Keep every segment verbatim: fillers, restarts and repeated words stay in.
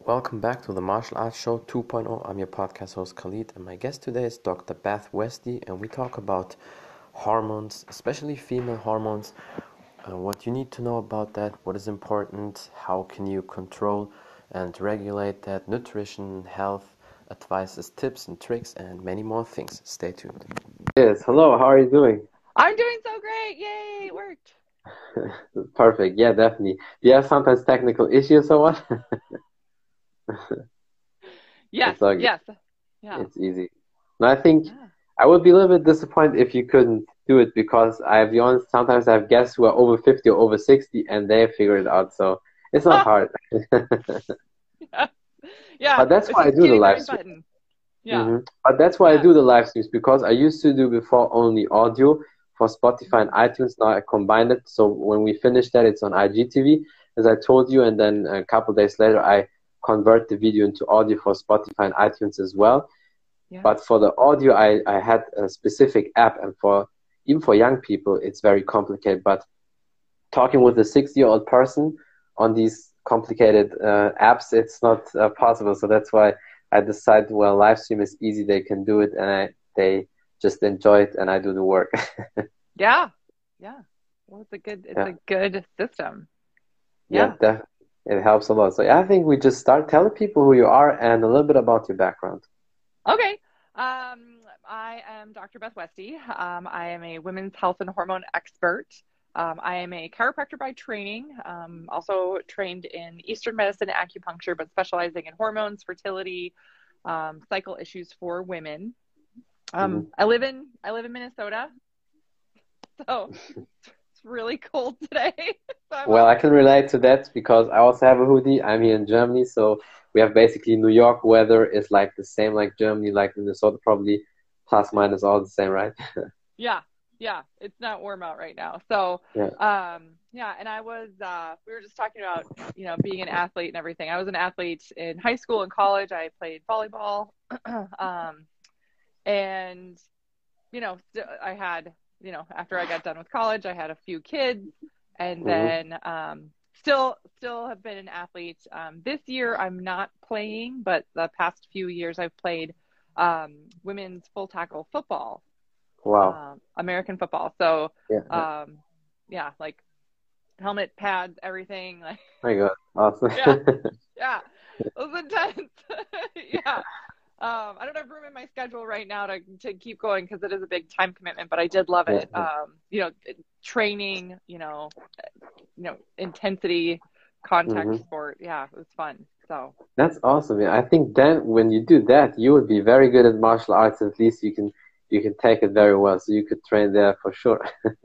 Welcome back to the Martial Arts Show 2.0. I'm your podcast host Khalid, and my guest today is Doctor Beth Westy, and we talk about hormones, especially female hormones, uh, what you need to know about that, what is important, how can you control and regulate that, nutrition, health, advices, tips and tricks, and many more things. Stay tuned. Yes, hello, how are you doing? I'm doing so great. Yay, it worked. Perfect, yeah, definitely. Do you have sometimes technical issues or what? Yes, It's all good. yes. Yeah. It's easy. And I think Yeah. I would be a little bit disappointed if you couldn't do it because I'll be honest, sometimes I have guests who are over fifty or over sixty and they figure it out. So it's not hard. Yeah. Yeah. But that's It's why I just do the getting the live right stream. button. Yeah. hmm But that's why I Yeah. do the live streams because I used to do before only audio for Spotify and Mhm. iTunes. Now I combined it. So when we finish that, it's on I G T V, as I told you. And then a couple days later, I convert the video into audio for Spotify and iTunes as well. Yeah. But for the audio, I, I had a specific app, and for even for young people, it's very complicated. But talking with a sixty-year-old person on these complicated uh, apps, it's not uh, possible. So that's why I decided, well, live stream is easy; they can do it, and I, they just enjoy it, and I do the work. Yeah. Yeah. Well, it's a good it's Yeah, a good system. yeah, Yeah. def- it helps a lot. So yeah, I think we just start telling people who you are and a little bit about your background. Okay. Um, I am Doctor Beth Westy. Um, I am a women's health and hormone expert. Um, I am a chiropractor by training, um, also trained in Eastern medicine, acupuncture, but specializing in hormones, fertility, um, cycle issues for women. Um, hmm I live in I live in Minnesota, so it's really cold today. So I'm Well, I outside. can relate to that because I also have a hoodie. I'm here in Germany, so we have basically New York weather is like the same like Germany, like Minnesota, probably plus minus all the same, right? Yeah, yeah, it's not warm out right now. So, Yeah. um, yeah, and I was uh, we were just talking about you know being an athlete and everything. I was an athlete in high school and college. I played volleyball, um, and you know st- I had you know after I got done with college, I had a few kids, and hmm then um, still still have been an athlete. Um, this year I'm not playing, but the past few years I've played um, women's full tackle football, Wow. um, American football. So, Yeah. Yeah. um, yeah, like helmet, pads, everything. Like, My God. Awesome. yeah, yeah, it was intense. Yeah. Um, I don't have room in my schedule right now to to keep going because it is a big time commitment, but I did love Yeah. it. Yeah. Um, you know, training, you know, you know, intensity, contact hmm sport. Yeah, it was fun. So, That's awesome. Yeah. I think then when you do that, you would be very good at martial arts. At least you can you can take it very well. So you could train there for sure.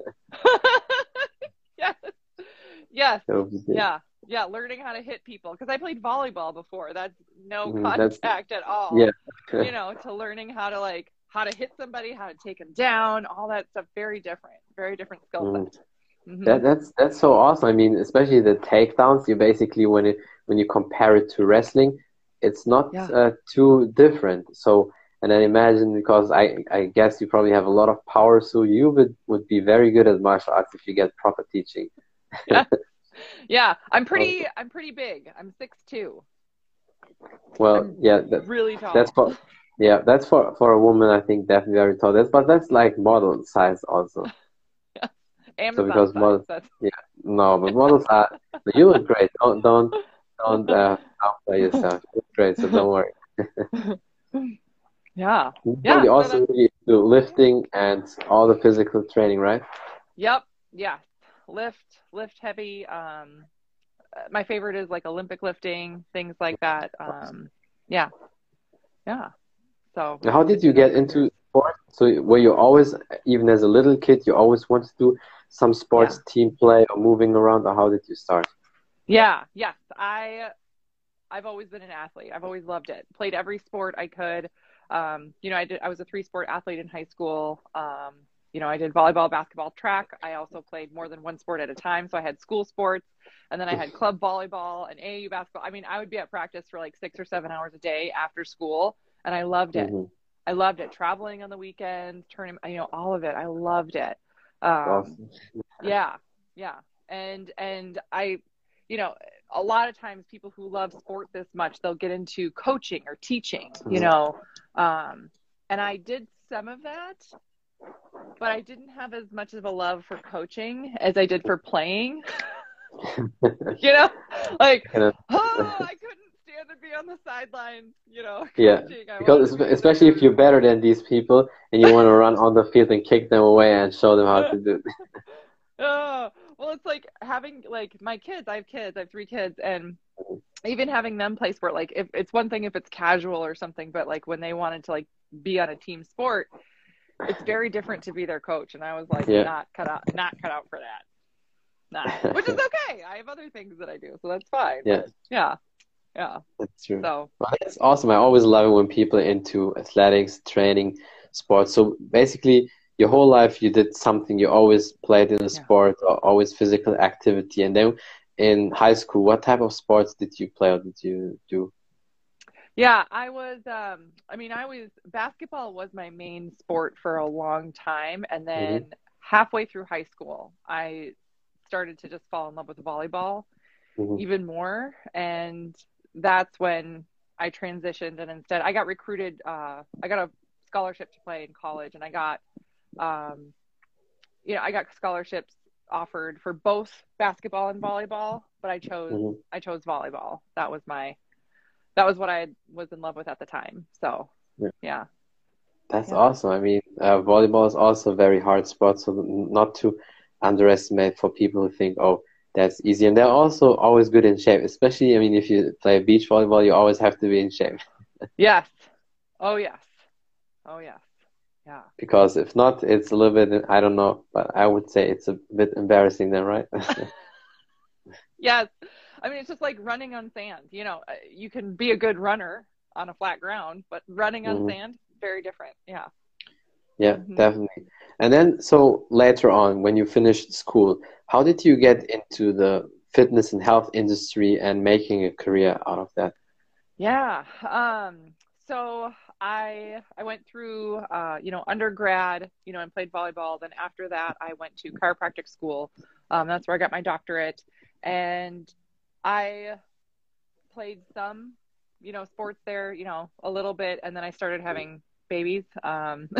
yes, yes, That would be good. yeah, yeah. Learning how to hit people because I played volleyball before. That's no Mhm. That's contact at all. yeah. You know, to learning how to like how to hit somebody, how to take them down, all that stuff. Very different, very different skill set. Mm. Hmm. That that's that's so awesome. I mean, especially the takedowns. You basically when it when you compare it to wrestling, it's not Yeah, uh, too different. So, and then imagine because I I guess you probably have a lot of power, so you would would be very good at martial arts if you get proper teaching. yeah, yeah. I'm pretty, Awesome. I'm pretty big. I'm six two. Well, I'm yeah, that really that's tall. for yeah, that's for for a woman. I think definitely very tall. That's but that's like model size also. So Amazon because size. models, That's yeah, no, but models are. You look great. Don't don't don't uh, outplay yourself. You look great, so don't worry. yeah, You're yeah. probably So also that's really into lifting and all the physical training, right? yep, yes. Lift, lift heavy. Um, uh, my favorite is like Olympic lifting, things like that. Um, yeah, yeah. So How I did you do that get for years. into sport? So were you always, even as a little kid, you always wanted to do some Yeah, sports, team play, or moving around, or how did you start? yeah, yes. I I've always been an athlete. I've always loved it. Played every sport I could. Um, you know, I did. I was a three sport athlete in high school. Um, you know, I did volleyball, basketball, track. I also played more than one sport at a time. So I had school sports, and then I had club volleyball and A A U basketball. I mean, I would be at practice for like six or seven hours a day after school, and I loved it. hmm I loved it. Traveling on the weekends, turning, you know, all of it. I loved it. Um, Awesome. yeah, yeah. And and I, you know. a lot of times people who love sport this much, they'll get into coaching or teaching, you Mhm. know. Um, and I did some of that, but I didn't have as much of a love for coaching as I did for playing. You know, like, Kind of, oh, I couldn't stand to be on the sidelines, you know, yeah, coaching. I wanted because to espe- be especially if you're better than these people and you want to there. run on the field and kick them away and show them how to do it. Oh, well, it's like having like my kids, I have kids, I have three kids, and even having them play sport, like if it's one thing if it's casual or something, but like when they wanted to like be on a team sport, it's very different to be their coach. And I was like, Yeah. not cut out, not cut out for that. Not, which is okay. I have other things that I do, so that's fine. Yeah, But yeah, yeah. that's true. So Well, that's awesome. I always love it when people are into athletics, training, sports. So basically, your whole life you did something. You always played in a yeah. sport or always physical activity. And then in high school, what type of sports did you play or did you do? Yeah, I was um I mean, I was basketball was my main sport for a long time, and Hmm. then halfway through high school, I started to just fall in love with volleyball Hmm. even more, and that's when I transitioned and instead I got recruited uh I got a scholarship to play in college, and I got um you know, I got scholarships offered for both basketball and volleyball, but I chose Hmm. I chose volleyball. That was my that was what I was in love with at the time. So, Yeah. yeah. That's Yeah. awesome. I mean, uh, volleyball is also a very hard sport, so not to underestimate for people who think, oh, that's easy. And they're also always good in shape, especially, I mean, if you play beach volleyball, you always have to be in shape Yes. Oh, yes. Oh, yes. Yeah. because if not, it's a little bit, I don't know, but I would say it's a bit embarrassing then, right? Yes. I mean, it's just like running on sand. You know, uh, you can be a good runner on a flat ground, but running on Hmm. sand, very different. Yeah. Yeah, Hmm. definitely. And then, so later on, when you finished school, how did you get into the fitness and health industry and making a career out of that? Yeah. Um, so I I went through uh, you know, undergrad, you know, and played volleyball. Then after that, I went to chiropractic school. Um, that's where I got my doctorate. And I played some, you know, sports there, you know, a little bit, and then I started having babies. Um,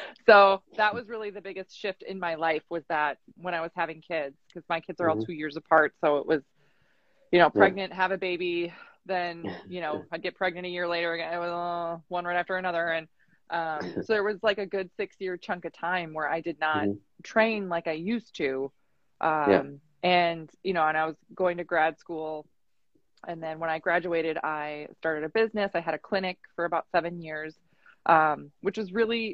so that was really the biggest shift in my life was that when I was having kids, because my kids are all Hmm. two years apart. So it was, you know, Yeah. pregnant, have a baby, then, you know, I'd get pregnant a year later again, it was uh, one right after another. And um, so there was like a good six year chunk of time where I did not Hmm. train like I used to. Yeah. Um, and, you know, and I was going to grad school, and then when I graduated, I started a business. I had a clinic for about seven years, um, which was really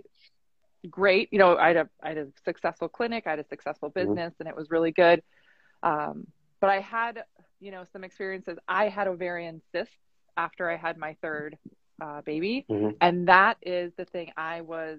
great. You know, I had a I had a successful clinic, I had a successful Hmm. business, and it was really good. Um, but I had, you know, some experiences. I had ovarian cysts after I had my third uh, baby, Hmm. and that is the thing I was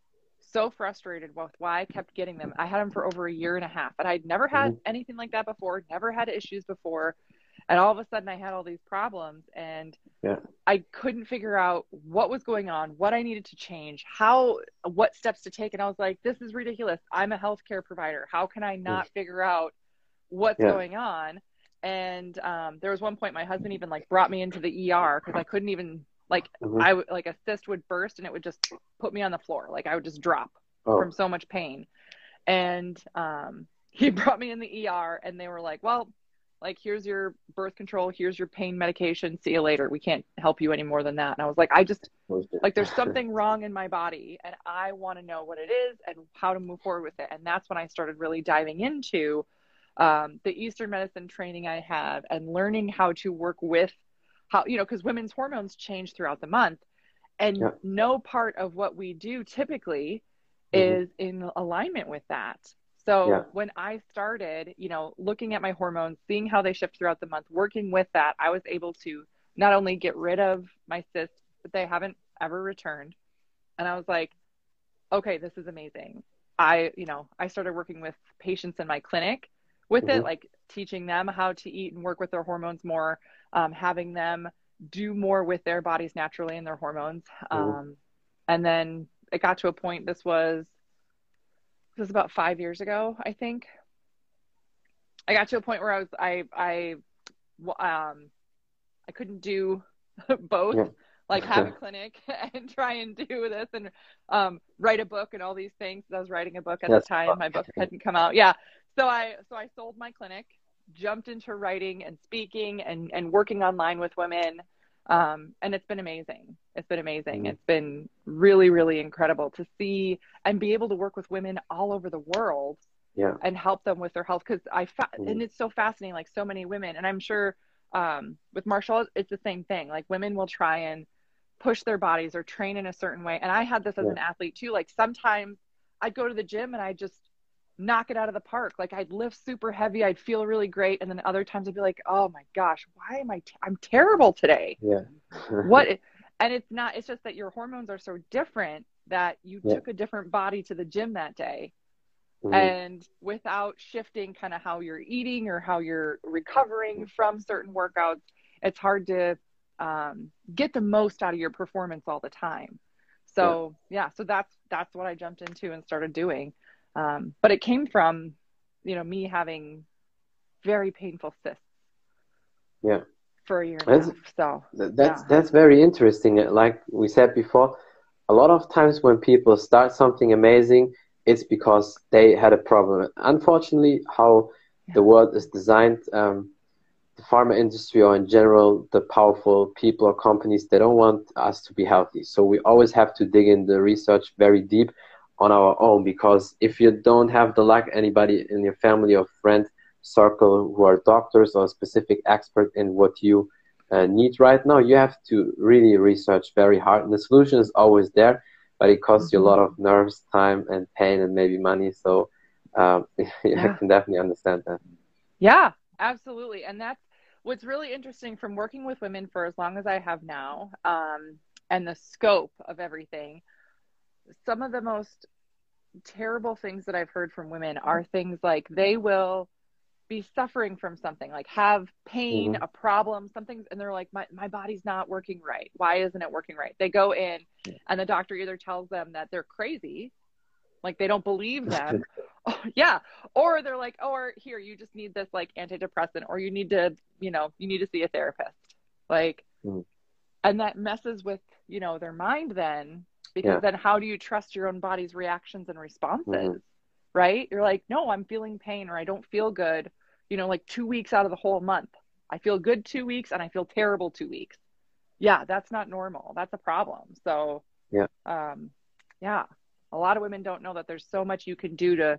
so frustrated with why I kept getting them. I had them for over a year and a half, and I'd never had Hmm. anything like that before, never had issues before. And all of a sudden I had all these problems, and Yeah. I couldn't figure out what was going on, what I needed to change, how, what steps to take. And I was like, this is ridiculous. I'm a healthcare provider. How can I not figure out what's Yeah. going on? And um, there was one point my husband even like brought me into the E R because I couldn't even like Hmm. I like a cyst would burst and it would just put me on the floor. Like I would just drop from Oh. so much pain. And um, he brought me in the E R, and they were like, well, like, here's your birth control, here's your pain medication, see you later. We can't help you any more than that. And I was like, I just, like, there's something wrong in my body, and I want to know what it is and how to move forward with it. And that's when I started really diving into um, the Eastern medicine training I have and learning how to work with how, you know, because women's hormones change throughout the month. And Yeah. no part of what we do typically Hmm. is in alignment with that. Yeah. So when I started, you know, looking at my hormones, seeing how they shift throughout the month, working with that, I was able to not only get rid of my cysts, but they haven't ever returned. And I was like, okay, this is amazing. I, you know, I started working with patients in my clinic with it, Hmm. like teaching them how to eat and work with their hormones more, um, having them do more with their bodies naturally and their hormones. Hmm. Um, and then it got to a point, this was, this was about five years ago, I think. I got to a point where I was, I, I um, I couldn't do both, Yeah. like have a clinic and try and do this and um, write a book and all these things. I was writing a book at the That's time. My book hadn't come out. Yeah. So I, so I sold my clinic, jumped into writing and speaking and, and working online with women. Um, and it's been amazing. It's been amazing. mm, It's been really, really incredible to see and be able to work with women all over the world yeah. and help them with their health. Cause I, fa- mm, and it's so fascinating, like so many women, and I'm sure, um, with Marshall, it's the same thing. Like women will try and push their bodies or train in a certain way. And I had this as yeah. an athlete too. Like sometimes I'd go to the gym and I just knock it out of the park. Like I'd lift super heavy. I'd feel really great. And then other times I'd be like, oh my gosh, why am I, t- I'm terrible today. Yeah. What? And it's not, it's just that your hormones are so different that you Yeah. took a different body to the gym that day. mm, And without shifting kind of how you're eating or how you're recovering from certain workouts, it's hard to um, get the most out of your performance all the time. yeah. So yeah, so that's that's what I jumped into and started doing. Um, but it came from, you know, me having very painful cysts Yeah. for a year and a That's half. So Th- That's yeah, that's very interesting. Like we said before, a lot of times when people start something amazing, it's because they had a problem. Unfortunately, how yeah, the world is designed, um, the pharma industry or in general, the powerful people or companies, they don't want us to be healthy. So we always have to dig in the research very deep on our own, because if you don't have the luck, anybody in your family or friend circle who are doctors or specific expert in what you uh, need right now, you have to really research very hard. And the solution is always there, but it costs you a mm-hmm. lot of nerves, time, and pain, and maybe money. So um, I Yeah, can definitely understand that. yeah, absolutely. And that's what's really interesting from working with women for as long as I have now, um, and the scope of everything. Some of the most terrible things that I've heard from women are things like they will be suffering from something, like have pain, hmm a problem, something, and they're like, my, my body's not working right. Why isn't it working right? They go in and the doctor either tells them that they're crazy, like they don't believe them. Oh, yeah. Or they're like, oh, or here, you just need this like antidepressant, or you need to, you know, you need to see a therapist. Like, and that messes with, you know, their mind then, because Yeah. then how do you trust your own body's reactions and hmm responses? Right? You're like, no, I'm feeling pain or I don't feel good, you know, like two weeks out of the whole month. I feel good two weeks and I feel terrible two weeks. Yeah, that's not normal. That's a problem. So, Yeah. um, yeah, a lot of women don't know that there's so much you can do to,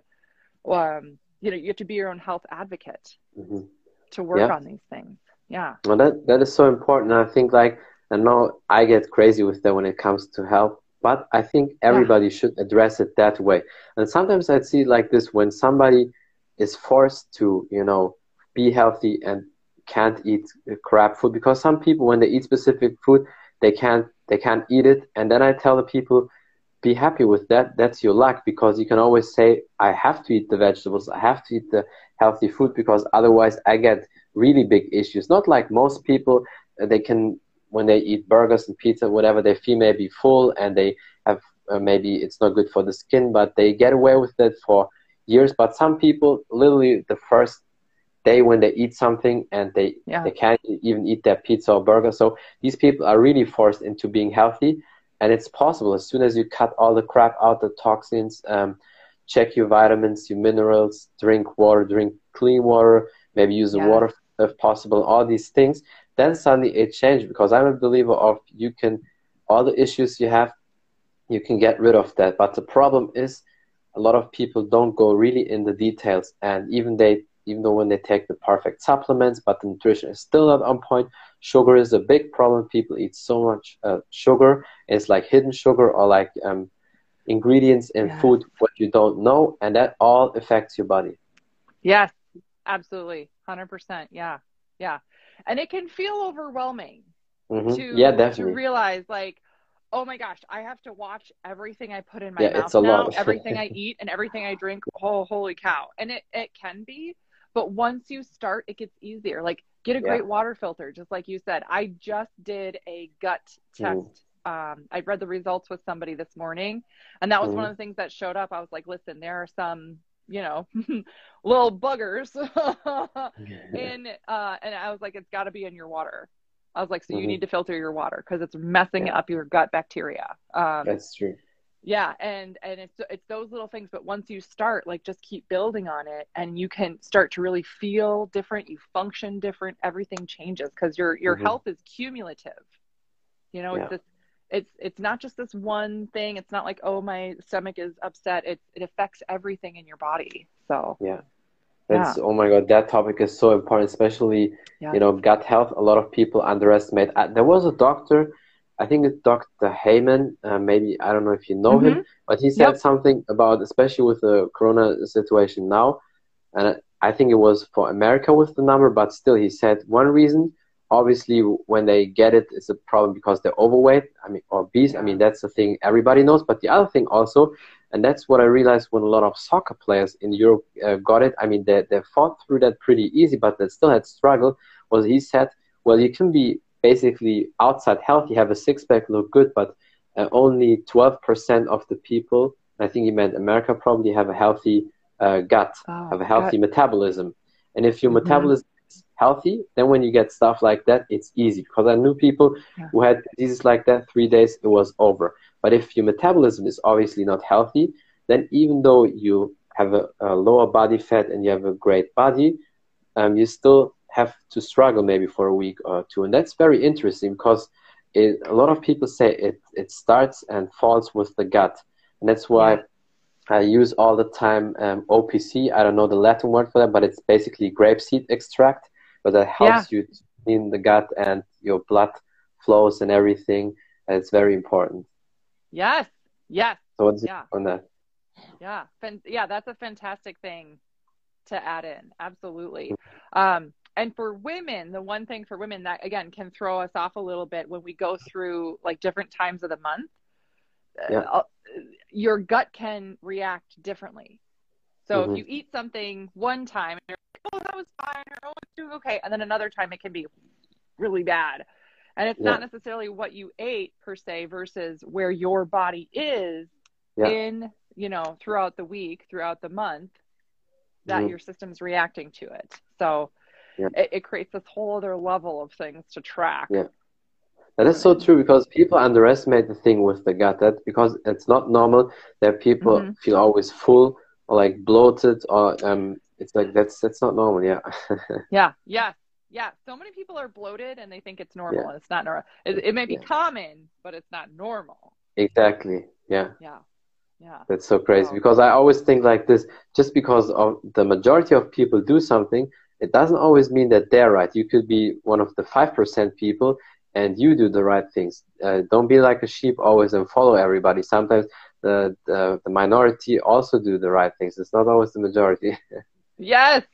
um, you know, you have to be your own health advocate hmm to work Yeah. on these things. Yeah. Well, that that is so important. I think like, I know I get crazy with that when it comes to health, but I think Yeah. everybody should address it that way. And sometimes I see it like this: when somebody is forced to, you know, be healthy and can't eat crap food, because some people when they eat specific food, they can't they can't eat it. And then I tell the people, be happy with that. That's your luck, because you can always say, I have to eat the vegetables, I have to eat the healthy food, because otherwise I get really big issues. Not like most people, uh, they can, when they eat burgers and pizza, whatever, they feel maybe full and they have, uh, maybe it's not good for the skin, but they get away with it for years. But some people, literally the first day when they eat something and they, Yeah. they can't even eat their pizza or burger. So these people are really forced into being healthy. And it's possible as soon as you cut all the crap out, the toxins, um, check your vitamins, your minerals, drink water, drink clean water, maybe use the Yes. water if possible, all these things, then suddenly it changed. Because I'm a believer of, you can, all the issues you have, you can get rid of that. But the problem is, a lot of people don't go really in the details, and even they, even though when they take the perfect supplements, but the nutrition is still not on point. Sugar is a big problem. People eat so much uh, sugar. It's like hidden sugar, or like um, ingredients in Yes. food what you don't know, and that all affects your body. Yes. Absolutely. one hundred percent. Yeah. Yeah. And it can feel overwhelming hmm Yeah, to to definitely. realize like, oh my gosh, I have to watch everything I put in my Yeah, mouth it's a now, lot. everything I eat and everything I drink. Oh, holy cow. And it it can be, but once you start, it gets easier. Like get a Yeah. great water filter, just like you said. I just did a gut test. hmm Um, I read the results with somebody this morning, and that was one hmm of the things that showed up. I was like, listen, there are some you know, little buggers. Yeah. and, uh, and I was like, it's got to be in your water. I was like, so you Hmm. need to filter your water because it's messing Yeah, up your gut bacteria. Um, that's true. yeah, and and it's it's those little things, but once you start, like just keep building on it and you can start to really feel different, you function different, everything changes because your your Hmm. health is cumulative. You know, it's Yeah, this it's it's not just this one thing. It's not like, oh, my stomach is upset. It it affects everything in your body. So, yeah. yeah. That's, oh my God, that topic is so important, especially, you Yes. know, gut health. A lot of people underestimate. Uh, there was a doctor, I think it's doctor Heyman, uh, maybe, I don't know if you know him, Mhm. but he said Yep. something about, especially with the corona situation now, and I think it was for America with the number, but still, he said one reason, obviously, when they get it, it's a problem because they're overweight, I mean, or obese. I Yeah. mean, that's the thing everybody knows. But the other thing also, and that's what I realized when a lot of soccer players in Europe uh, got it. I mean, they they fought through that pretty easy, but they still had struggle. Was he said, well, you can be basically outside healthy, have a six pack, look good, but uh, only twelve percent of the people, I think he meant America, probably have a healthy uh, gut, Oh, have a gut. healthy metabolism. And if your Mhm. metabolism is healthy, then when you get stuff like that, it's easy. Because I knew people Yeah. who had diseases like that, three days, it was over. But if your metabolism is obviously not healthy, then even though you have a, a lower body fat and you have a great body, um, you still have to struggle maybe for a week or two. And that's very interesting because it, a lot of people say it, it starts and falls with the gut. And that's why Yeah. I use all the time um, O P C. I don't know the Latin word for that, but it's basically grapeseed extract, but that Yeah. helps you to clean the gut and your blood flows and everything. And it's very important. Yes. Yes. So what's Yeah. on that? Yeah. Fan- yeah, that's a fantastic thing to add in. Absolutely. Um, and for women, the one thing for women that again can throw us off a little bit when we go through like different times of the month, Yeah. uh, your gut can react differently. So if Hmm. you eat something one time and you're like, oh, that was fine, or oh, it's doing okay, and then another time it can be really bad. And it's Yeah. not necessarily what you ate per se versus where your body is Yeah. in, you know, throughout the week, throughout the month, that Hmm. your system's reacting to it. So Yeah. it, it creates this whole other level of things to track Yeah. That for is so women. true because people underestimate the thing with the gut. That because it's not normal that people Mm-hmm. feel always full or like bloated or um. It's like that's that's not normal. Yeah. Yeah. Yes. Yeah. So many people are bloated and they think it's normal Yeah. and it's not normal. It, it may be Yeah. common, but it's not normal. Exactly. Yeah. Yeah. Yeah. That's so crazy So, because I always think like this, just because of the majority of people do something, it doesn't always mean that they're right. You could be one of the five percent people and you do the right things. Uh, don't be like a sheep always and follow everybody. Sometimes the, the, the minority also do the right things. It's not always the majority. yes.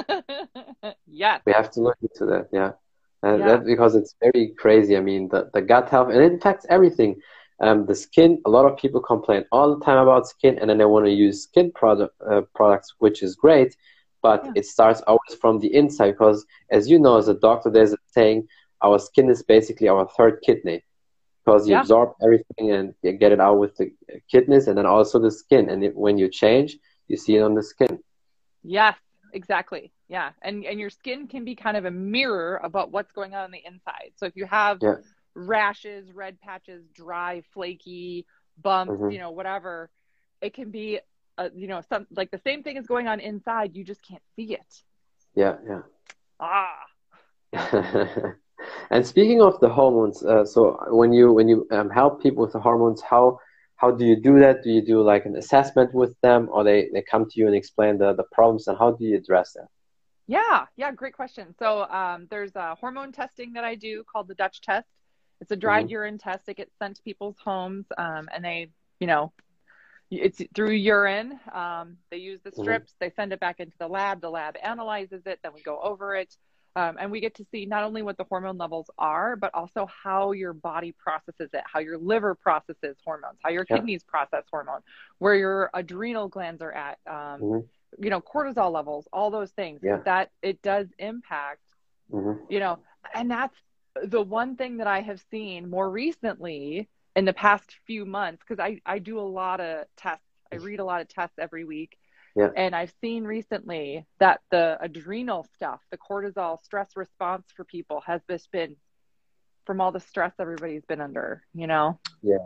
yes. We have to look into that. Yeah. And Yeah. that because it's very crazy. I mean, the, the gut health, and it affects everything. Um, the skin, a lot of people complain all the time about skin, and then they want to use skin product, uh, products, which is great, but Yeah. it starts always from the inside because, as you know, as a doctor, there's a saying, our skin is basically our third kidney because you Yeah. absorb everything and you get it out with the kidneys and then also the skin. And it, when you change, you see it on the skin. Yes, exactly. Yeah. And and your skin can be kind of a mirror about what's going on on the inside. So if you have Yeah. rashes, red patches, dry, flaky bumps, Hmm. you know, whatever, it can be uh, you know, some like the same thing is going on inside, you just can't see it. Yeah. Yeah. Ah. Yeah. And speaking of the hormones, uh, so when you when you um, help people with the hormones, how how do you do that? Do you do like an assessment with them, or they, they come to you and explain the, the problems, and how do you address that? Yeah, yeah, great question. So um, there's a hormone testing that I do called the Dutch test. It's a dried Hmm. urine test. It gets sent to people's homes, um, and they, you know, it's through urine. Um, they use the Hmm. strips. They send it back into the lab. The lab analyzes it. Then we go over it, um, and we get to see not only what the hormone levels are, but also how your body processes it, how your liver processes hormones, how your Yeah. kidneys process hormone, where your adrenal glands are at. Um, Hmm. you know, cortisol levels, all those things, Yeah. because that it does impact, Hmm. you know, and that's the one thing that I have seen more recently in the past few months, because I, I do a lot of tests. I read a lot of tests every week. Yeah. And I've seen recently that the adrenal stuff, the cortisol stress response for people has just been from all the stress everybody's been under, you know, Yeah.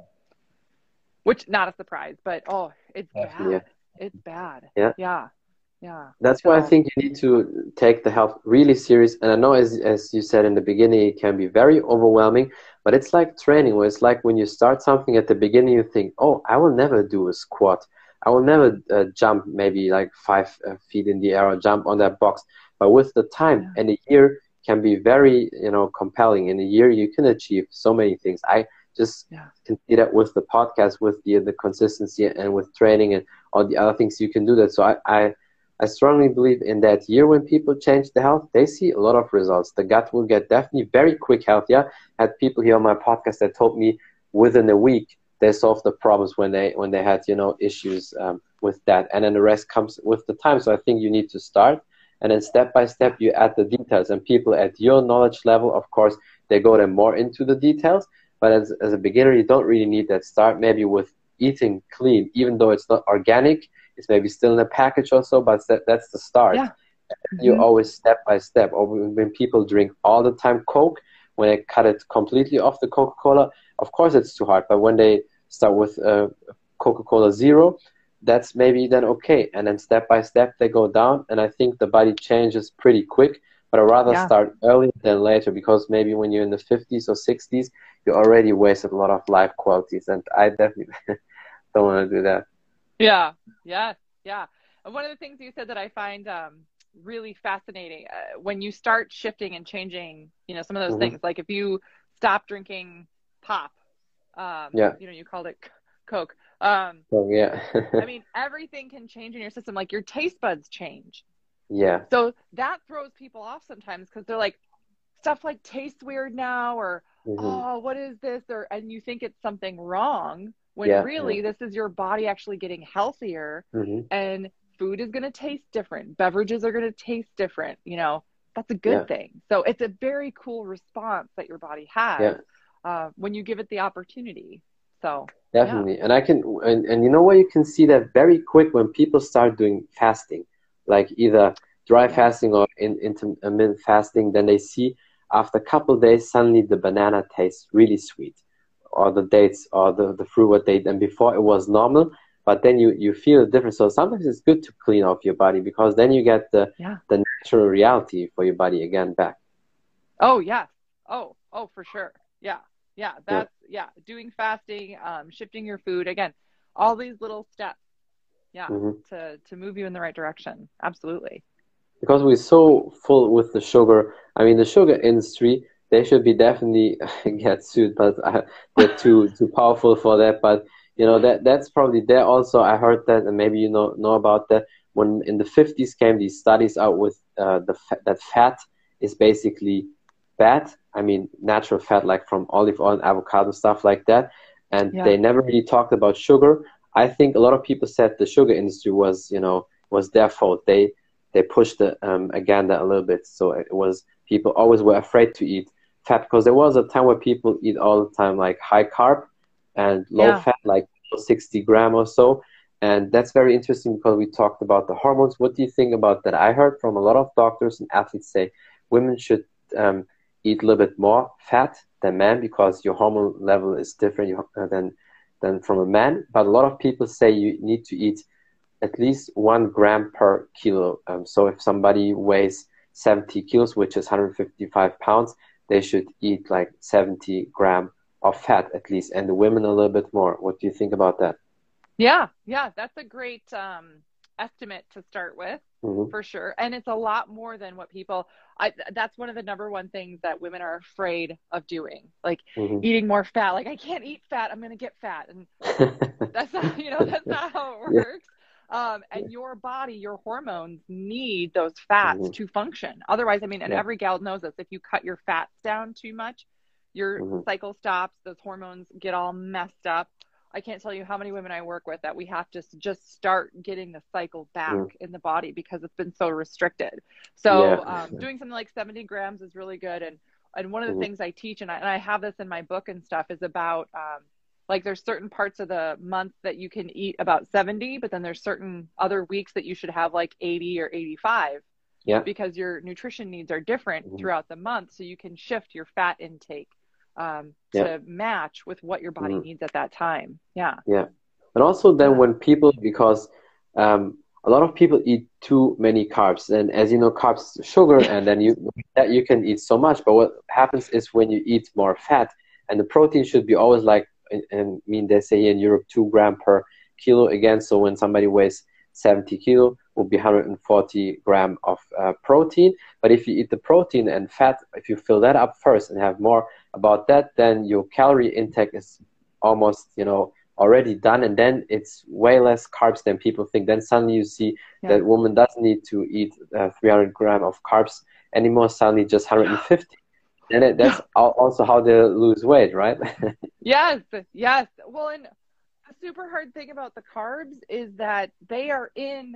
which not a surprise, but oh, it's Definitely. bad. It's bad. Yeah. Yeah. Yeah. That's why I So, think you need to take the health really serious. And I know, as as you said in the beginning, it can be very overwhelming, but it's like training, where it's like when you start something at the beginning, you think, "Oh, I will never do a squat. I will never uh, jump maybe like five uh, feet in the air or jump on that box." But with the time yeah. and a year can be very, you know, compelling. In a year, you can achieve so many things. I just Yeah. can see that with the podcast, with the the consistency, and with training and all the other things you can do that. So I. I I strongly believe in that year when people change the health, they see a lot of results. The gut will get definitely very quick healthier. I had people here on my podcast that told me within a week they solved the problems when they when they had, you know, issues um, with that, and then the rest comes with the time. So I think you need to start, and then step by Yeah. step you add the details. And people at your knowledge level, of course, they go then more into the details. But as as a beginner, you don't really need that. Start maybe with eating clean, even though it's not organic. It's maybe still in a package or so, but that, that's the start. Yeah. You Hmm. always step by step. Or when people drink all the time Coke, when they cut it completely off the Coca-Cola, of course it's too hard. But when they start with uh, Coca-Cola Zero, that's maybe then okay. And then step by step they go down. And I think the body changes pretty quick. But I'd rather Yeah. start earlier than later, because maybe when you're in the fifties or sixties, you already wasted a lot of life qualities. And I definitely don't want to do that. Yeah. Yes. Yeah. And one of the things you said that I find um, really fascinating uh, when you start shifting and changing, you know, some of those Hmm. things, like if you stop drinking pop, um, Yeah. you know, you called it c- Coke. Um, So yeah. I mean, everything can change in your system. Like your taste buds change. Yeah. So that throws people off sometimes because they're like, stuff like tastes weird now, or, Hmm. oh, what is this? Or, and you think it's something wrong when Yeah. Yeah. really this is your body actually getting healthier Hmm. and food is going to taste different. Beverages are going to taste different. You know, that's a good Yeah. thing. So it's a very cool response that your body has Yeah. uh, when you give it the opportunity. So, yeah. Definitely. And I can, and, and you know what? You can see that very quick when people start doing fasting, like either dry Yeah. fasting or in, intermittent fasting. Then they see after a couple of days, suddenly the banana tastes really sweet, or the dates, or the, the fruit what they, and before it was normal, but then you, you feel a difference. So sometimes it's good to clean off your body, because then you get the, Yeah. the natural reality for your body again back. Oh, yes. Oh, oh, for sure. Yeah. Yeah. Yeah. That's, yeah. Doing fasting, um, shifting your food. Again, all these little steps. Yeah. Hmm. To, to move you in the right direction. Absolutely. Because we're so full with the sugar. I mean, the sugar industry, they should be definitely get sued, but uh, they're too too powerful for that. But you know that that's probably there also. I heard that, and maybe you know know about that. When in the fifties came these studies out with uh, the fa- that fat is basically bad. I mean, natural fat like from olive oil and avocado stuff like that, and Yeah. they never really talked about sugar. I think a lot of people said the sugar industry was, you know, was their fault. They they pushed the um, agenda a little bit. So it was, people always were afraid to eat fat, because there was a time where people eat all the time like high carb and low Yeah. fat, like sixty gram or so. And that's very interesting, because we talked about the hormones. What do you think about that? I heard from a lot of doctors and athletes say women should um, eat a little bit more fat than men, because your hormone level is different uh, than than from a man. But a lot of people say you need to eat at least one gram per kilo. Um, so if somebody weighs seventy kilos, which is one hundred fifty-five pounds, they should eat like seventy gram of fat at least, and the women a little bit more. What do you think about that? Yeah. Yeah. That's a great um, estimate to start with. Hmm. For sure. And it's a lot more than what people, I, that's one of the number one things that women are afraid of doing, like Hmm. eating more fat. Like, I can't eat fat. I'm going to get fat. And that's not, you know, that's not how it Yeah. works. Um, and your body, your hormones need those fats Hmm. to function. Otherwise, I mean, and Yeah. every gal knows this, if you cut your fats down too much, your Hmm. cycle stops, those hormones get all messed up. I can't tell you how many women I work with that we have to just start getting the cycle back Hmm. in the body because it's been so restricted. Yeah. So um, doing something like seventy grams is really good. And and one of the Hmm. things I teach, and I, and I have this in my book and stuff, is about um, Like there's certain parts of the month that you can eat about seventy, but then there's certain other weeks that you should have like eighty or eighty-five Yeah. because your nutrition needs are different Mm-hmm. throughout the month. So you can shift your fat intake um, to Yeah. match with what your body Mm-hmm. needs at that time. Yeah. Yeah. And also then Yeah. when people, because um, a lot of people eat too many carbs, and as you know, carbs is sugar, and then you that you can eat so much. But what happens is when you eat more fat, and the protein should be always like, and I mean they say in Europe two gram per kilo again. So when somebody weighs seventy kilo, will be one hundred forty gram of uh, protein. But if you eat the protein and fat, if you fill that up first and have more about that, then your calorie intake is almost, you know, already done, and then it's way less carbs than people think. Then suddenly you see Yeah. that woman doesn't need to eat uh, three hundred gram of carbs anymore, suddenly just one hundred fifty. And it, that's also how they lose weight, right? Yes, yes. Well, and the super hard thing about the carbs is that they are in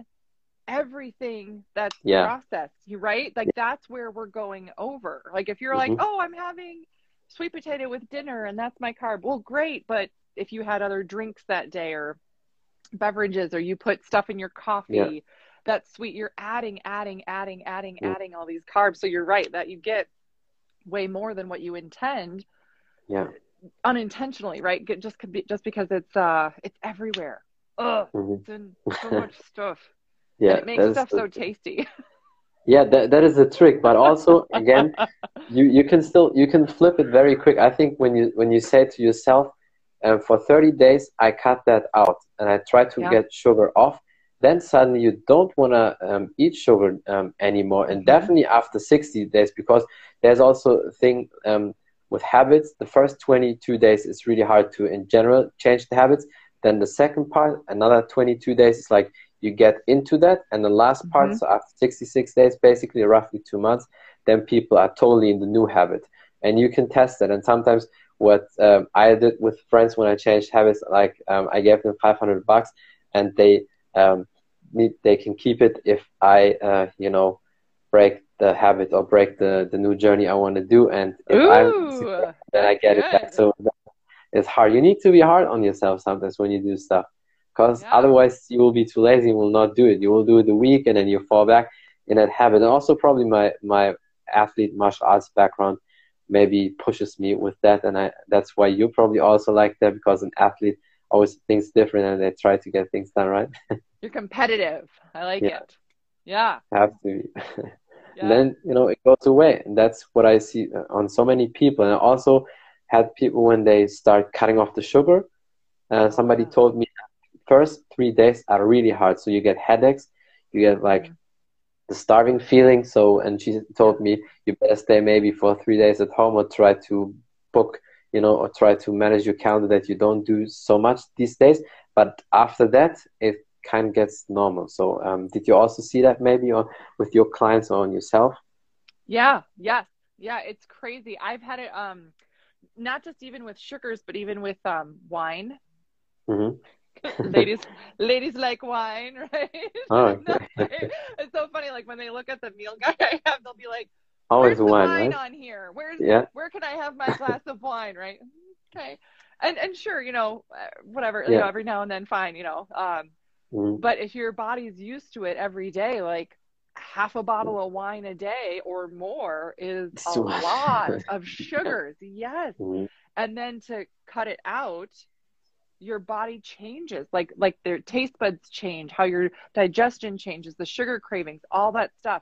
everything that's Yeah. processed, you right? Like that's where we're going over. Like if you're Mm-hmm. like, oh, I'm having sweet potato with dinner and that's my carb. Well, great. But if you had other drinks that day or beverages, or you put stuff in your coffee Yeah. that's sweet, you're adding, adding, adding, adding, Mm. adding all these carbs. So you're right that you get way more than what you intend. Yeah. Unintentionally, right? Get- Just could be just because it's uh it's everywhere. Ugh, Mm-hmm. it's in so much stuff. Yeah. And it makes That is stuff the, so tasty. yeah, that, that is the trick. But also, again, you, you can still, you can flip it very quick. I think when you, when you say to yourself, um, for thirty days, I cut that out and I try to Yeah. get sugar off, then suddenly you don't want to um, eat sugar um, anymore. And Mhm. definitely after sixty days, because there's also a thing um, with habits. The first twenty-two days is really hard to, in general, change the habits. Then the second part, another twenty-two days, is like you get into that. And the last part, Mhm. so after sixty-six days, basically roughly two months, then people are totally in the new habit. And you can test it. And sometimes what um, I did with friends when I changed habits, like um, I gave them five hundred bucks and they um, need, they can keep it if I, uh, you know, break the habit or break the, the new journey I want to do. And if I Ooh, then I that's get it back. good. So it's hard. You need to be hard on yourself sometimes when you do stuff, because Yeah. otherwise you will be too lazy and will not do it. You will do it a week and then you fall back in that habit. And also probably my, my athlete martial arts background maybe pushes me with that, and I that's why you probably also like that, because an athlete always thinks different and they try to get things done right. You're competitive. I like Yeah. it. Yeah. Have to be. Yeah. And then, you know, it goes away, and that's what I see on so many people. And I also had people when they start cutting off the sugar, uh, Oh, somebody yeah. told me first three days are really hard, so you get headaches, you get like Mhm. the starving feeling. So, and she told me you better stay maybe for three days at home, or try to book, you know, or try to manage your calendar that you don't do so much these days. But after that, it kind of gets normal. So, um, did you also see that maybe on with your clients or on yourself? Yeah. Yes. Yeah. It's crazy. I've had it, um, not just even with sugars, but even with um, wine. Mm-hmm. ladies ladies like wine, right? Oh, No, okay. it's so funny, like when they look at the meal guide I have, they'll be like, Always where's the wine, wine right? on here? Where's Yeah. where can I have my glass of wine, right? Okay. And and sure, you know, uh, whatever, you Yeah. know, every now and then, fine, you know. Um, Mm-hmm. but if your body's used to it every day, like half a bottle of wine a day or more is It's a too much. lot of Yeah. sugars. Yes. Mm-hmm. And then to cut it out, your body changes, like like their taste buds change, how your digestion changes, the sugar cravings, all that stuff.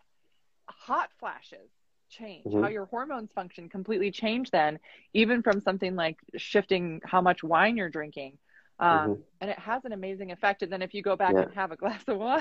Hot flashes change, how Mm-hmm. your hormones function completely change then, even from something like shifting how much wine you're drinking. Mm-hmm. Um, and it has an amazing effect. And then if you go back Yeah. and have a glass of wine,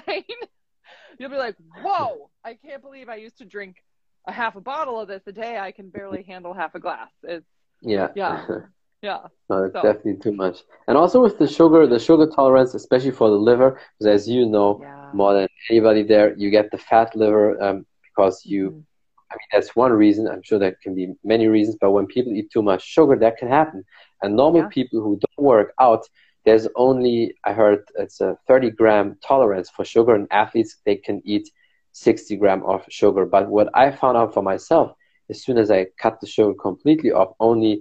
you'll be like, whoa, I can't believe I used to drink a half a bottle of this a day. I can barely handle half a glass. It's, Yeah. yeah, yeah. No, it's So, definitely too much. And also with the sugar, the sugar tolerance, especially for the liver, because as you know yeah. more than anybody there, you get the fat liver um, because you, Mhm. I mean, that's one reason. I'm sure there can be many reasons, but when people eat too much sugar, that can happen. And normal Yeah. people who don't work out, there's only, I heard it's a thirty gram tolerance for sugar, and athletes, they can eat sixty gram of sugar. But what I found out for myself, as soon as I cut the sugar completely off, only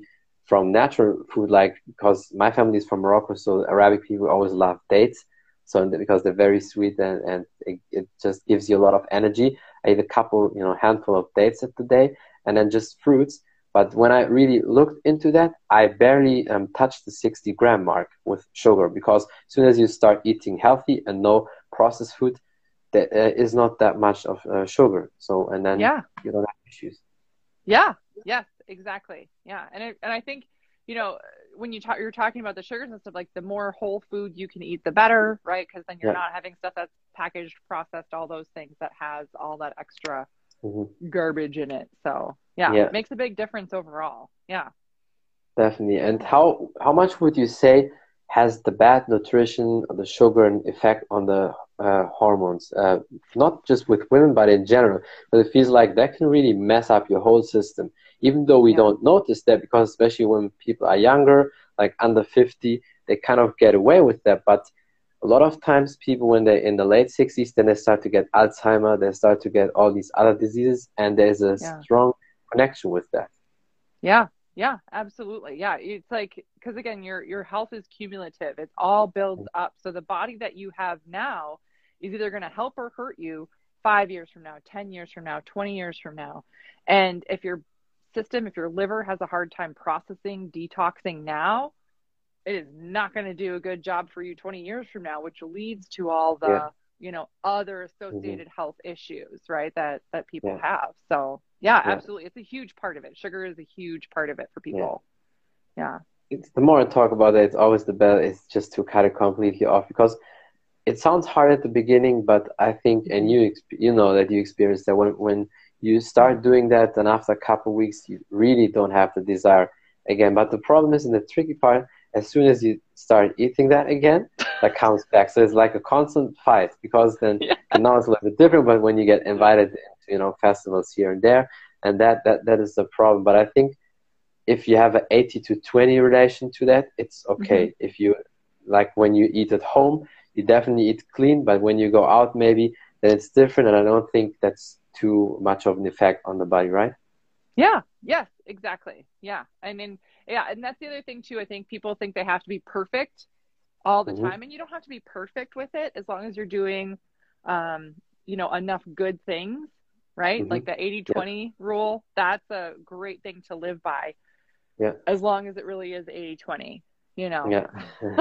from natural food, like because my family is from Morocco, so Arabic people always love dates. So because they're very sweet and, and it, it just gives you a lot of energy. I eat a couple, you know, handful of dates at the day and then just fruits. But when I really looked into that, I barely um, touched the sixty gram mark with sugar because as soon as you start eating healthy and no processed food, there uh, is not that much of uh, sugar. So, and then Yeah. you don't have issues. Yeah. Yes, exactly. Yeah. And I, and I think, you know, when you talk, you're talking about the sugars and stuff, like the more whole food you can eat, the better, right? Because then you're Yeah. not having stuff that's packaged, processed, all those things that has all that extra Mm-hmm. garbage in it. So yeah, Yeah, makes a big difference overall. Yeah. definitely. And how how much would you say has the bad nutrition or the sugar an effect on the uh, hormones? Uh, not just with women, but in general. But it feels like that can really mess up your whole system, even though we Yeah. don't notice that because especially when people are younger, like under fifty, they kind of get away with that. But a lot of times people when they're in the late sixties, then they start to get Alzheimer, they start to get all these other diseases, and there's a Yeah. strong connection with that. Yeah. Yeah, absolutely. Yeah. It's like, because again, your your health is cumulative. It all builds up. So the body that you have now is either going to help or hurt you five years from now, ten years from now, twenty years from now. And if your system, if your liver has a hard time processing, detoxing now, it is not going to do a good job for you twenty years from now, which leads to all Yeah. the, you know, other Hmm. associated health issues, right? That that people Yeah. have. So yeah, Yeah. absolutely. It's a huge part of it. Sugar is a huge part of it for Yeah. people. Yeah. It's the more I talk about it, it's always the better. It's just to cut it completely off because it sounds hard at the beginning, but I think, and Mm-hmm. you exp- you know that you experience that when when you Yeah. start doing that, then after a couple of weeks, you really don't have the desire again. But the problem is, and the tricky part, as soon as you start eating that again, that comes back. So it's like a constant fight because then, Yeah. and now it's a little bit different. But when you get invited into, you know, festivals here and there, and that that that is the problem. But I think if you have an eighty to twenty relation to that, it's Mm-hmm. okay. If you like when you eat at home, you definitely eat clean, but when you go out, maybe then it's different. And I don't think that's too much of an effect on the body, right? Yeah. Yes, exactly. Yeah. I mean, yeah. And that's the other thing too. I think people think they have to be perfect all the Mm-hmm. time. And you don't have to be perfect with it as long as you're doing, um, you know, enough good things, right? Mm-hmm. Like the eighty Yeah, twenty rule, that's a great thing to live by yeah, as long as it really is eighty twenty, you know. yeah.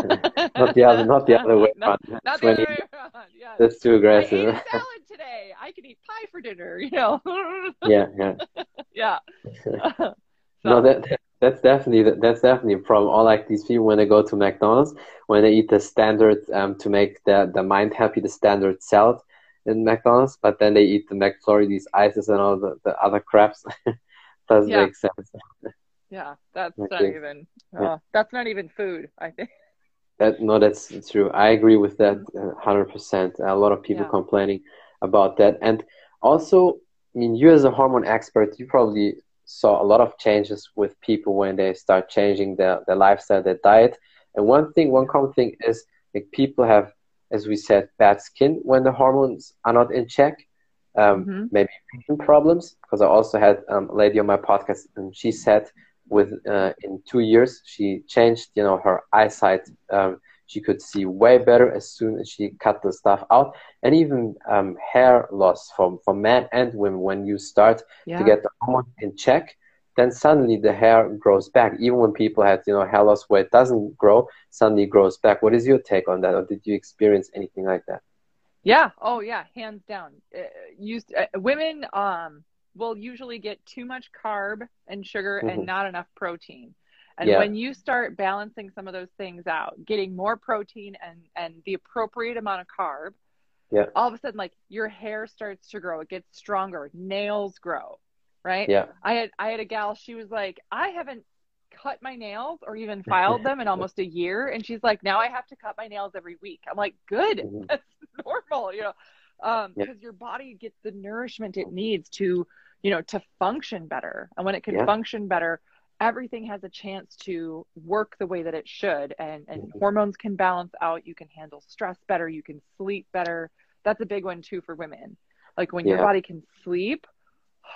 Not the other, not the other way not, around. not the other twenty, way around. Yes. that's too I ate aggressive. a salad today. I can eat pie for dinner, you know. Yeah, yeah. Yeah. No, So, that that- that's definitely that's definitely a problem. Or like these people when they go to McDonald's, when they eat the standard um to make the the mind happy, the standard salad in McDonald's, but then they eat the McFlurry, these ices and all the, the other craps. Doesn't yeah. make sense. Yeah. That's not Okay. even, Yeah. uh, that's not even food, I think. That no, that's true. I agree with that uh, one hundred percent. A lot of people Yeah. complaining about that. And also, I mean, you as a hormone expert, you probably saw a lot of changes with people when they start changing their, their lifestyle, their diet. And one thing, one Yeah. common thing is like people have, as we said, bad skin when the hormones are not in check. Um, Mm-hmm. maybe vision problems, because I also had um, a lady on my podcast, and she said with uh, in two years she changed, you know, her eyesight. Um, she could see way better as soon as she cut the stuff out, and even um, hair loss from for men and women. When you start to Yeah. get the hormone in check, then suddenly the hair grows back. Even when people had, you know, hair loss where it doesn't grow, suddenly it grows back. What is your take on that, or did you experience anything like that? Yeah. Oh, yeah. Hands down. Uh, used uh, women um will usually get too much carb and sugar and Hmm. not enough protein. And Yeah, when you start balancing some of those things out, getting more protein and and the appropriate amount of carb, yeah, all of a sudden like your hair starts to grow. It gets stronger. Nails grow, right? yeah. I had I had a gal, she was like, "I haven't cut my nails or even filed them in almost a year." And she's like, "Now I have to cut my nails every week." I'm like, "Good. Mhm. That's normal, you know." Um, Yeah, because your body gets the nourishment it needs to, you know, to function better. And when it can yeah. function better, everything has a chance to work the way that it should. And and Mhm. hormones can balance out. You can handle stress better. You can sleep better. That's a big one too for women. Like when your Yeah, body can sleep,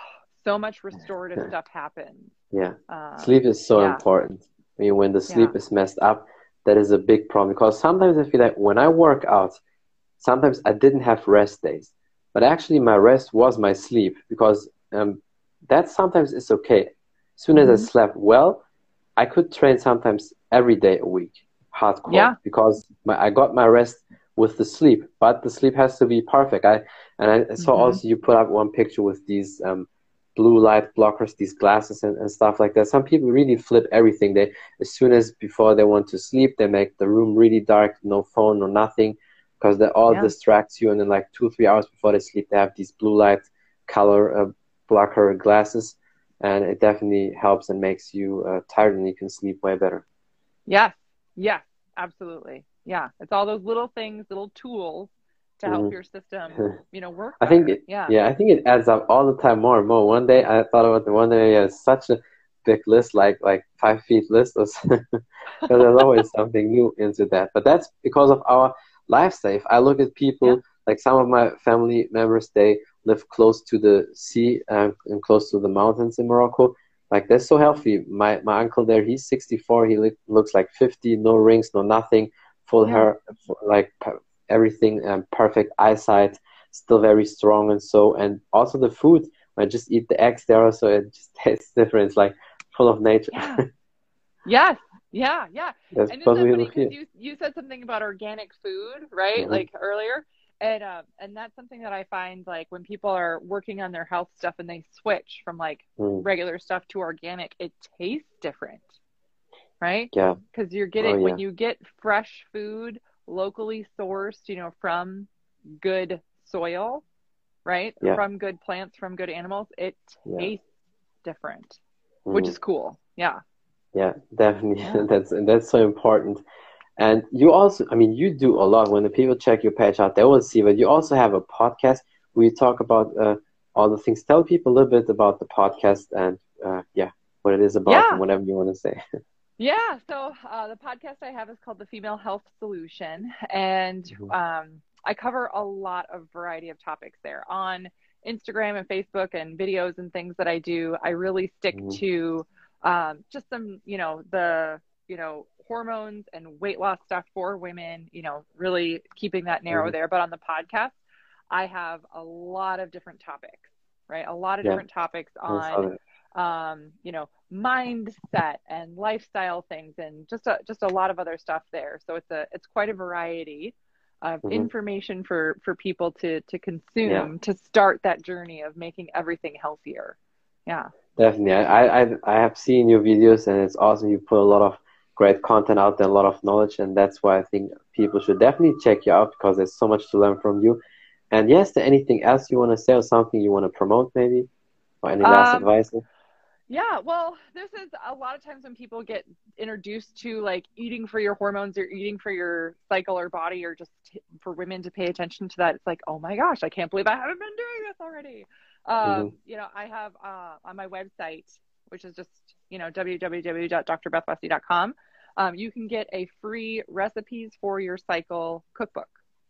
So much restorative stuff happens. Yeah. Um, Sleep is so yeah, important. I mean, when the yeah, sleep is messed up, that is a big problem because sometimes I feel like when I work out, sometimes I didn't have rest days, but actually my rest was my sleep because um, that sometimes is okay. As soon as I hmm slept well, I could train sometimes every day a week, hardcore, yeah, because my, I got my rest with the sleep, but the sleep has to be perfect. I and I saw hmm also you put up one picture with these um, blue light blockers, these glasses and, and stuff like that. Some people really flip everything. They as soon as before they want to sleep, they make the room really dark, no phone, no nothing, because that all yeah. distracts you. And then like two, three hours before they sleep, they have these blue light color uh, blocker glasses, and it definitely helps and makes you uh, tired, and you can sleep way better. Yes, yes, absolutely. Yeah, it's all those little things, little tools to help Hmm. your system, you know, work I think better. it, Yeah. yeah, I think it adds up all the time more and more. One day I thought about the one day I had such a big list, like like five feet list, because there's always something new into that. But that's because of our lifestyle. If I look at Yeah. people, like some of my family members, they live close to the sea uh, and close to the mountains in Morocco. Like they're so healthy. My my uncle there, he's sixty-four. He look, looks like fifty, no rings, no nothing, full Yeah. hair, like everything, um, perfect eyesight, still very strong and so. And also the food. I just eat the eggs there, so it just tastes different. It's like full of nature. Yeah. Yes. Yeah. Yeah. That's And isn't because that we funny? live Because here. you you said something about organic food, right? Hmm. Like earlier. And um and that's something that I find like when people are working on their health stuff and they switch from like Mm. regular stuff to organic, it tastes different, right? Yeah. Because you're Oh getting when yeah. you get fresh food locally sourced, you know, from good soil, right? Yeah. From good plants, from good animals, it Yeah. tastes different, which Mm. is cool. Yeah. Yeah. Definitely. Yeah. That's that's so important. And you also, I mean, you do a lot. When the people check your page out, they will see. But you also have a podcast where you talk about uh, all the things. Tell people a little bit about the podcast and uh, yeah, what it is about and Yeah. whatever you want to say. Yeah. So uh, the podcast I have is called The Female Health Solution. And Mhm. um, I cover a lot of variety of topics there on Instagram and Facebook and videos and things that I do. I really stick Mhm. to um, just some, you know, the, you know, hormones and weight loss stuff for women, you know, really keeping that narrow Mhm. there. But on the podcast, I have a lot of different topics, right? A lot of Yeah. different topics I saw on that. um, you know, mindset and lifestyle things and just a, just a lot of other stuff there. So it's a it's quite a variety of Mhm. information for for people to to Yeah. consume to start that journey of making everything healthier. Yeah. Definitely. I, I I have seen your videos and it's awesome. You put a lot of great content out there, a lot of knowledge, and that's why I think people should definitely check you out because there's so much to learn from you. And yes, there anything else you want to say or something you want to promote maybe? Or any last Um, advice? Yeah, well, this is a lot of times when people get introduced to like eating for your hormones or eating for your cycle or body or just t- for women to pay attention to that. It's like, oh my gosh, I can't believe I haven't been doing this already. Mm-hmm. Um, you know, I have uh, on my website, which is just, you know, w w w dot dr beth westy dot com, um, you can get a free recipes for your cycle cookbook.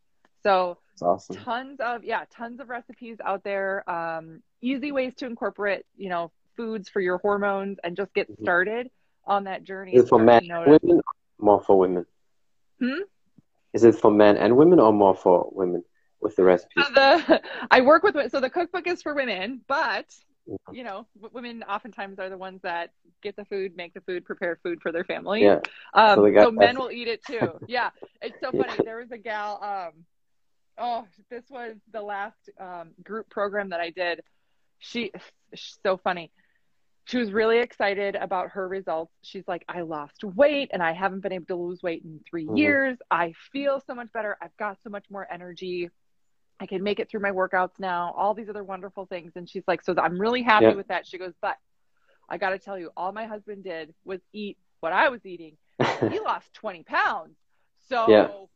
So It's awesome. tons of, yeah, tons of recipes out there. Um, easy ways to incorporate, you know, foods for your hormones and just get Mm-hmm. started on that journey Is and it for start men to and notice. women or more for women? Hmm? Is it for men and women or more for women with the So recipes? the I work with so the cookbook is for women, but Mm-hmm. you know, women oftentimes are the ones that get the food, make the food, prepare food for their families. Yeah. So Um, the guy so has men will eat it too. Yeah, it's so funny. yeah. There was a gal. Um, oh, this was the last um, group program that I did. She, she's so funny. She was really excited about her results. She's like, I lost weight and I haven't been able to lose weight in three Mm-hmm. years. I feel so much better. I've got so much more energy. I can make it through my workouts now, all these other wonderful things. And she's like, so I'm really happy Yeah. with that. She goes, but I got to tell you, all my husband did was eat what I was eating and he lost twenty pounds. Yeah. So,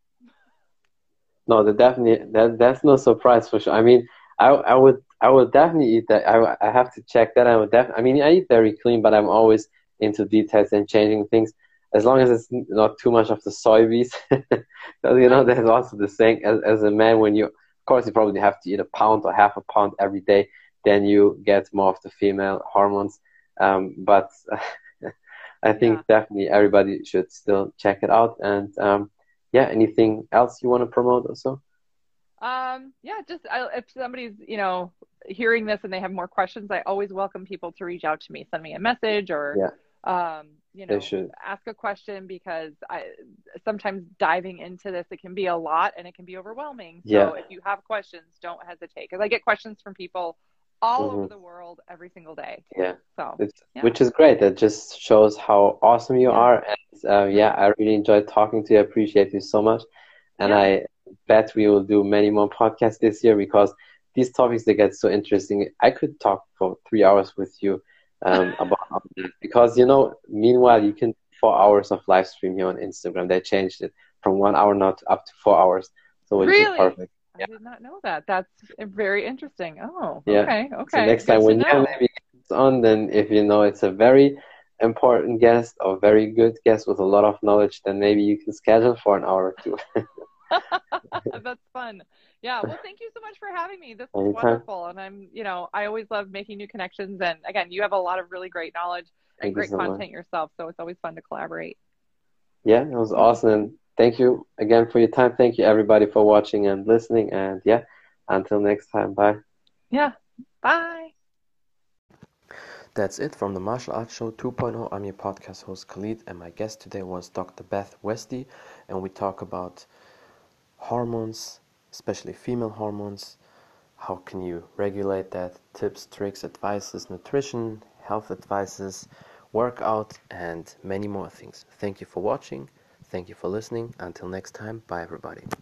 No, that definitely that that's no surprise for sure. I mean, I I would I would definitely eat that. I I have to check that. I would def. I mean, I eat very clean, but I'm always into details and changing things. As long as it's not too much of the soybeans, because you know right. there's also the saying as as a man when you of course you probably have to eat a pound or half a pound every day. then you get more of the female hormones. Um, but I think Yeah. definitely everybody should still check it out. And um, yeah, anything else you want to promote also? Um, yeah, just I, if somebody's, you know, hearing this and they have more questions, I always welcome people to reach out to me, send me a message or, Yeah, um, you they know, should. ask a question because I sometimes diving into this, it can be a lot and it can be overwhelming. Yeah. So if you have questions, don't hesitate because I get questions from people all over Hmm. the world every single day. Yeah. So It's, yeah, which is great. That just shows how awesome you yeah, are. And uh, yeah, yeah, I really enjoyed talking to you. I appreciate you so much. And yeah, I bet we will do many more podcasts this year because these topics, they get so interesting. I could talk for three hours with you um, about that because, you know, meanwhile, you can four hours of live stream here on Instagram. They changed it from one hour now to up to four hours. So which is really. perfect. I did not know that. That's very interesting. Oh, Yeah. okay, So okay. next time Good to when you have know. maybe guests on, then if you know it's a very important guest or very good guest with a lot of knowledge, then maybe you can schedule for an hour or two. That's fun. Yeah. Well, thank you so much for having me. This was Anytime. wonderful. And I'm, you know, I always love making new connections. And again, you have a lot of really great knowledge and Thank you great so much. content yourself. So it's always fun to collaborate. Yeah, it was awesome. And thank you again for your time. Thank you everybody for watching and listening. And yeah, until next time. Bye. Yeah. Bye. That's it from the Martial Arts Show 2.0. I'm your podcast host Khalid, and my guest today was Doctor Beth Westy, and we talk about hormones, especially female hormones. How can you regulate that? Tips, tricks, advices, nutrition, health advices, workout, and many more things. Thank you for watching. Thank you for listening. Until next time, bye everybody.